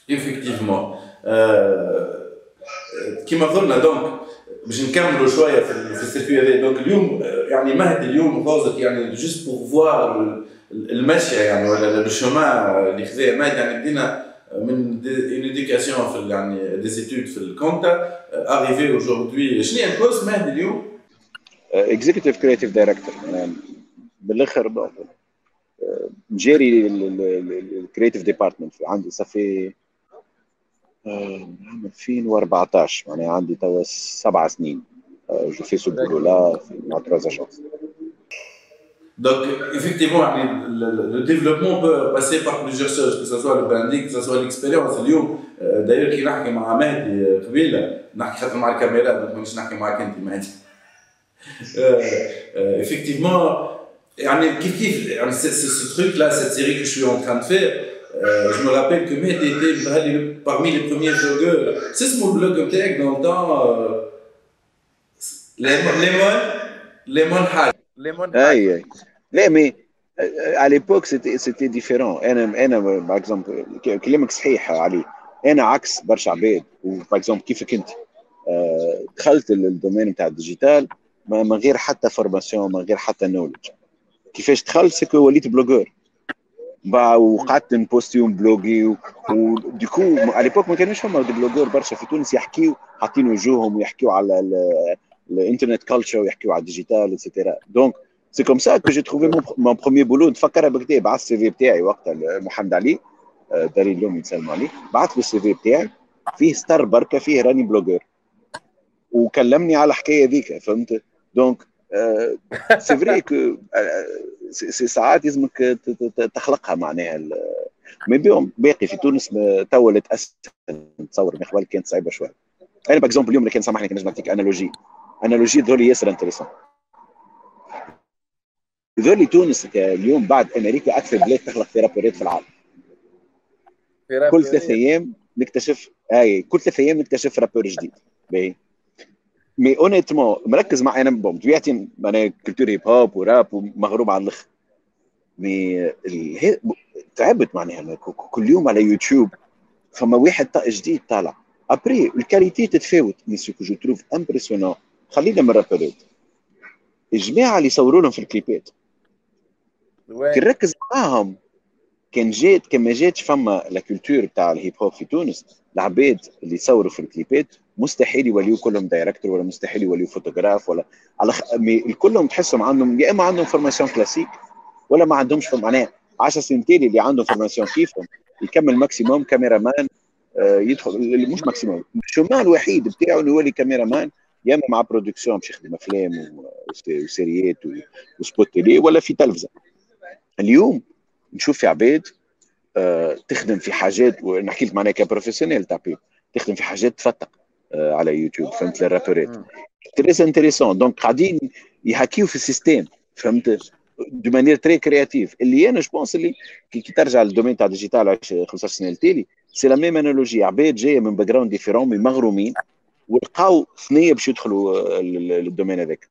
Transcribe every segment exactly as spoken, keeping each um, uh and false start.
effectivement. Euh, كما قلنا دونك باش نكملوا شويه في في السيركوي هذا. دونك اليوم يعني مهد اليوم فوزت يعني جوست بور فوار المشيه يعني ولا لو شومان اللي خذاه مهد يعني بدينا من اون ايديوكاسيون في يعني دي زيتود في الكونتا اريفي اوجوردي. شنو هي الكورس مهد اليوم؟ اكزيكتيف كرياتيف دايركتور بالاخر جيري الكرياتيف ديبارتمنت عندي صافي عام ألفين وأربعطاش معناها عندي توا سبع سنين جو في سو بولو لا مع تروز اجونس. Donc, effectivement, le, le développement peut passer par plusieurs choses, que ce soit le branding, que ce soit l'expérience. D'ailleurs, qui نحكي مع مهدي قبيله نحكي خاطر مع الكاميرا مانيش نحكي معك انت مهدي. Effectivement, يعني كيف كيف يعني ce truc là, cette série que je suis en train de faire, euh, je me rappelle que Mehdi était parmi les premiers blogueurs. C'est ce mon blog نتاعك dans le temps Lemon Lemon Hack. Lemon Hack. لا مي على ليبوك سيتي سيتي ديفيرون. انا انا باغ اكزومبل كلامك صحيح علي. انا عكس برشا عباد وباغ اكزومبل كيفك انت دخلت الدومين نتاع الديجيتال من غير حتى فورماسيون من غير حتى نولج. كيفاش دخلت سكو وليت بلوجور وقعدت نبوستيهم بلوغي وديكو على ليبوك ما كانوش فما بلوجور برشا في تونس يحكيو حاطين وجوههم ويحكيو على الانترنت كلتشر ويحكيو على الديجيتال ايتترا. دونك سي كوم سا كو جي تروفي مون بروميير بولو. نتفكرها بكدا بعثت السي في بتاعي وقتها محمد علي داري اليوم يسلم عليه. بعثت له السي في بتاعي فيه ستار بركه فيه راني بلوجر وكلمني على الحكايه ذيك فهمت. دونك سي فري كو سي ساعات لازمك تخلقها معناها. مي بيهم باقي في تونس تولت اسهل نتصور من قبل كانت صعيبه شويه. انا باكزومبل اليوم اللي كان سامحني كان نجم نعطيك انالوجي انالوجي ذولي ياسر انتريسون. ذولي تونس اليوم بعد امريكا اكثر بلاد تخلق في رابورات في العالم. كل ثلاث ايام نكتشف اي كل ثلاث ايام نكتشف رابور جديد. باهي مي اونيتمون مركز مع انا بوم طبيعتي انا كولتور هيب هوب وراب ومغروب على الاخر. مي تعبت معناها كل يوم على يوتيوب فما واحد طاق جديد طالع ابري الكاليتي تتفاوت. مي سو كو جو تروف امبرسيونون خلينا من الرابورات الجماعه اللي يصوروا لهم في الكليبات كي نركز معاهم كان جات كما جاتش فما لا كولتور تاع الهيب هوب في تونس. العباد اللي يصوروا في الكليبات مستحيل يوليو كلهم دايركتور ولا مستحيل يوليو فوتوغراف ولا على خ... كلهم تحسهم عندهم يا اما عندهم فورماسيون كلاسيك ولا ما عندهمش معناها عشر سنين تالي اللي عندهم فورماسيون كيفهم يكمل ماكسيموم كاميرا مان آه يدخل مش ماكسيموم الشومان الوحيد بتاعه انه يولي كاميرا مان يا اما مع برودكسيون باش يخدم افلام وسيريات وسبوت تيلي ولا في تلفزه. اليوم نشوف في عباد آه تخدم في حاجات ونحكي لك معناها كبروفيسيونيل تاع بيب تخدم في حاجات تفتق آه على يوتيوب فهمت الرابورات تريس انتريسون. دونك قاعدين يحكيو في السيستم فهمت دو مانيير تري كرياتيف. اللي انا جو بونس اللي كي ترجع للدومين تاع ديجيتال خمسطاش سنه التالي سي لا ميم انالوجي. عباد جايه من باك جراوند ديفيرون مي مغرومين ولقاو ثنيه باش يدخلوا للدومين هذاك.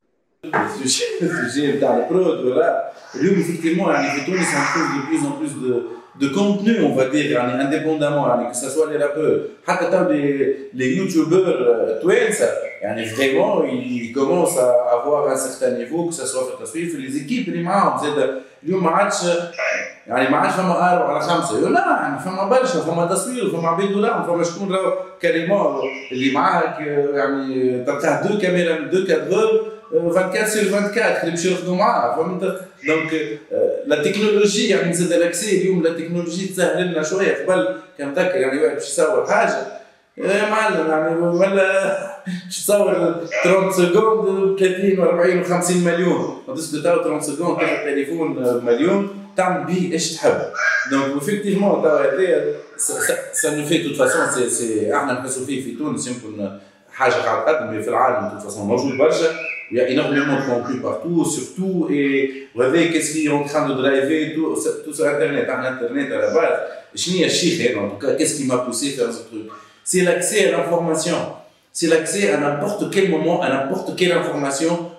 السوجي نتاع البرود ولا اليوم effectivement يعني في تونس on trouve de plus en plus de de contenu on va dire يعني indépendamment يعني que ça soit les rappeurs حتى تاع les les youtubeurs توانسه يعني vraiment ils commencent à avoir un certain niveau que ça soit في التصوير في les équipes اللي معاهم زاد اليوم ما عادش يعني ما عادش فما أربعة على خمسة لا يعني فما برشا فما تصوير فما عباد دولار فما شكون راهو كريمون اللي معاك يعني تلقاه دو كاميرا دو كادرور vingt-quatre sur vingt-quatre اللي باش يرقدوا معاه فهمت. دونك لا تكنولوجي يعني زاد الاكسي اليوم لا تكنولوجي تسهل لنا شويه. قبل كان تذكر يعني واحد باش يصور حاجه يا معلم يعني ولا باش تصور ثلاثين سكوند ثلاثين وأربعين وخمسين مليون تدوس تاو ثلاثين سكوند تاخذ تليفون مليون تعمل به ايش تحب. دونك افكتيفمون تاو هذايا سا نو في توت فاسون سي سي احنا نحسوا فيه في تونس يمكن حاجه قاعد تقدم في العالم توت فاسون موجود برشا. Il y a énormément de contenu partout, surtout, et vous voyez qu'est-ce qui est en train de driver tout, tout sur Internet, à Internet à la base. Je n'ai pas en tout cas, qu'est-ce qui m'a poussé à faire ce truc? C'est l'accès à l'information. C'est l'accès à n'importe quel moment, à n'importe quelle information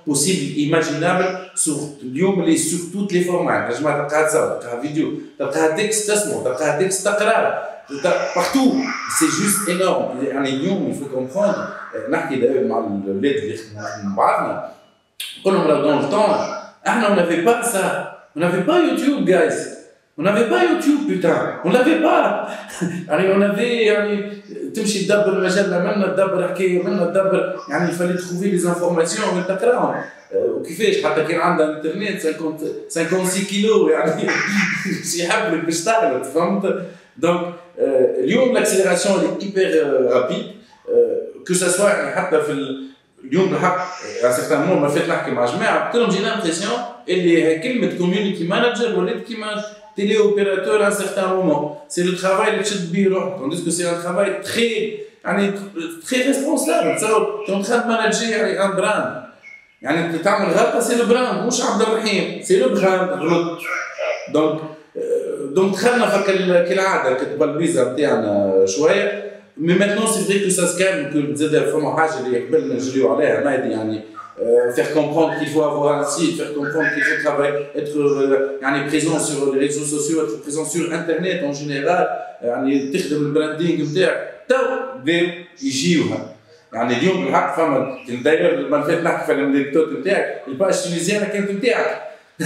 possible, imaginable sur اليوم اللي sur toutes les formats. تنجم تلقاها تصور، تلقاها فيديو، تلقاها تكست تسمع، تلقاها تكست تقراه، partout. C'est juste énorme. يعني اليوم il faut comprendre. نحكي دائما مع الأولاد اللي يخدموا مع بعضنا، نقول لهم لو dans le temps, احنا on n'avait pas ça, on n'avait pas YouTube guys. On n'avait pas YouTube, putain, on l'avait pas. يعني on avait يعني تمشي تدبر مجلة منا تدبر حكاية منا تدبر يعني fallait trouver les informations وانت تقراهم. وكيفاش حتى كان عندنا انترنت خمسة وخمسين كيلو يعني شي يحبك باش تغلط فهمت. دونك اليوم l'accélération est hyper rapide que ça soit يعني حتى في اليوم بالحق à certains moments ما فات نحكي مع جماعة قلت لهم جينا امبرسيون اللي كلمة community manager ولات كيما téléopérateur à un certain moment. C'est le travail de tchad biro, tandis que c'est un travail très, très responsable. Tu es en train de manager un brand. يعني تعمل غلطة c'est le brand مش عبد الرحيم c'est le brand غلط. donc donc دخلنا في كالعادة كتبقى الفيزا نتاعنا شوية. mais maintenant c'est vrai que ça se calme que زاد فما حاجة اللي قبل نجريو عليها مادي يعني. Euh, faire comprendre qu'il faut avoir un site, faire comprendre qu'il faut travailler, être euh, présent sur les réseaux sociaux, être présent sur internet en général, يعني تخدم البراندينغ نتاعك تو بداو يجيوها. يعني اليوم بالحق فما داير المره اللي فاتت نحكي في الانكدوت نتاعك الباج تونيزيانه كانت نتاعك.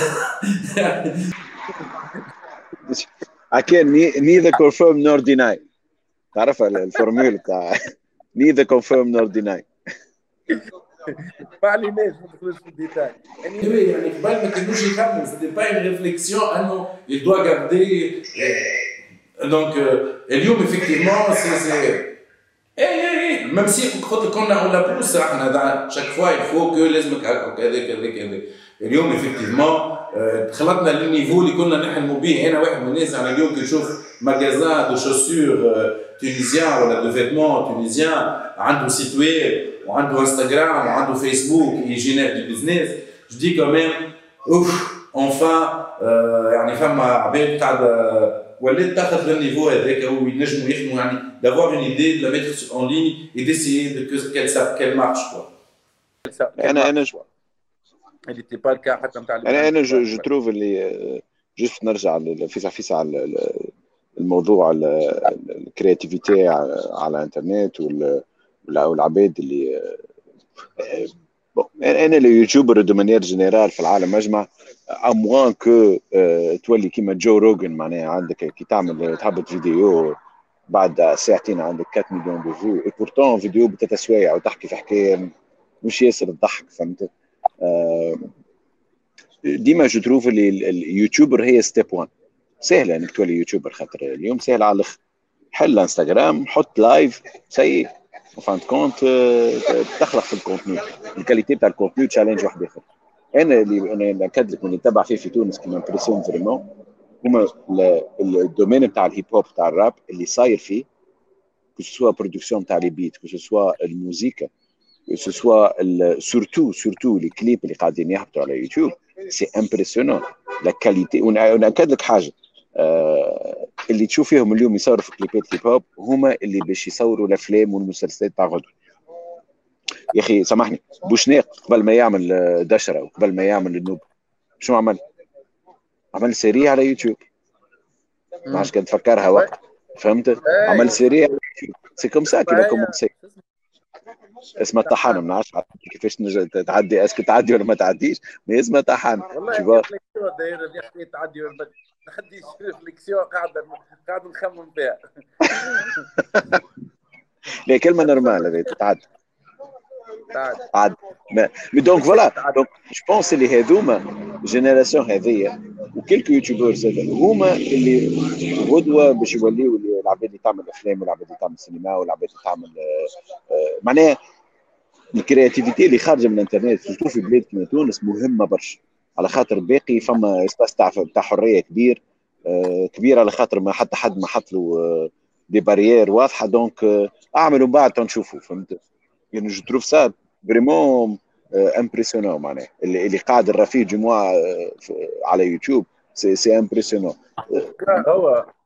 I can neither confirm nor deny. تعرف الفورمول تاع neither confirm nor deny. ما عليناش ما ندخلوش في الديتاي. يعني يعني قبل ما كانوش يفهموا سيتي با اون ريفليكسيون انه il doit garder donc اليوم effectivement c'est اي اي ميم سي كنا on la pousse احنا chaque fois il faut que لازمك هكاك هذاك هذاك هذاك. اليوم effectivement دخلتنا للنيفو اللي كنا نحلموا به. انا واحد من الناس انا اليوم كي نشوف ماغازان دو شوسور تونيزيان ولا دو فيتمون تونيزيان عنده سيت ويب وعنده انستغرام وعنده فيسبوك يجينير دي بيزنس جو دي كوميم اوف اونفان يعني فما عباد قاعده ولات تاخذ للنيفو هذاك وينجموا يخدموا يعني دافوار اون ايدي دو لا ميتر اون ليني اي ديسيي دو كيل كيل مارش كوا. انا انا اللي تي با الكا حتى نتاع انا انا جو جو تروف اللي جست نرجع فيسا فيسا على الموضوع الكرياتيفيتي على الانترنت والعباد اللي انا اليوتيوبر دو مانيير جينيرال في العالم اجمع اموان كو تولي كيما جو روجن معناها عندك كي تعمل تهبط فيديو بعد ساعتين عندك أربعة مليون دو فيو اي بورتون فيديو بتتسويع وتحكي في حكايه مش ياسر تضحك فهمت. ديما جو تروف اللي اليوتيوبر هي ستيب واحد سهله انك تولي يوتيوبر خاطر اليوم سهل على الاخر. حل انستغرام حط لايف سي وفانت كونت تخلق في الكونتني الكاليتي تاع الكونتني تشالنج واحد اخر. انا اللي انا ناكد لك من نتبع فيه في تونس كيما امبرسيون فريمون هما الدومين تاع الهيب هوب تاع الراب اللي صاير فيه كو سوا برودكسيون تاع لي بيت كو سوا الموسيقى كو سوا سورتو سورتو لي كليب اللي قاعدين يهبطوا على يوتيوب سي امبرسيونون لا كاليتي. وناكد لك حاجه آه اللي تشوف فيهم اليوم يصوروا في كليبات هيب هوب هما اللي باش يصوروا الافلام والمسلسلات تاع غدوه. يا اخي سامحني بوشناق قبل ما يعمل دشره وقبل ما يعمل النوب شنو عمل؟ عمل سيري على يوتيوب ما عادش كان تفكرها وقت فهمت. عمل سيري على يوتيوب سي كوم سا كيما كومونسي اسمها طحان ما نعرفش كيفاش تعدي اسكو تعدي ولا ما تعديش مي اسمها طحان والله داير اللي حكيت تعدي ولا ما تعديش ريفليكسيون قاعده قاعد نخمم فيها. لا كلمه نورمال هذه تتعدى عاد مي دونك فوالا دونك جو بونس اللي هذوما جينيراسيون هذيا وكلكو يوتيوبرز هما اللي غدوه باش يوليو العباد اللي تعمل افلام والعباد اللي تعمل سينما والعباد اللي تعمل معناها الكرياتيفيتي اللي خارجه من الانترنت سورتو في بلاد كيما تونس مهمه برشا على خاطر باقي فما اسباس تاع تاع حريه كبير كبير على خاطر ما حتى حد ما حط له دي باريير واضحه دونك اعملوا بعد تنشوفوا فهمت. يعني جو تروف سا فريمون امبرسيونون معناها اللي اللي قاعد الرفيق جمعه على يوتيوب سي سي امبرسيونون. هو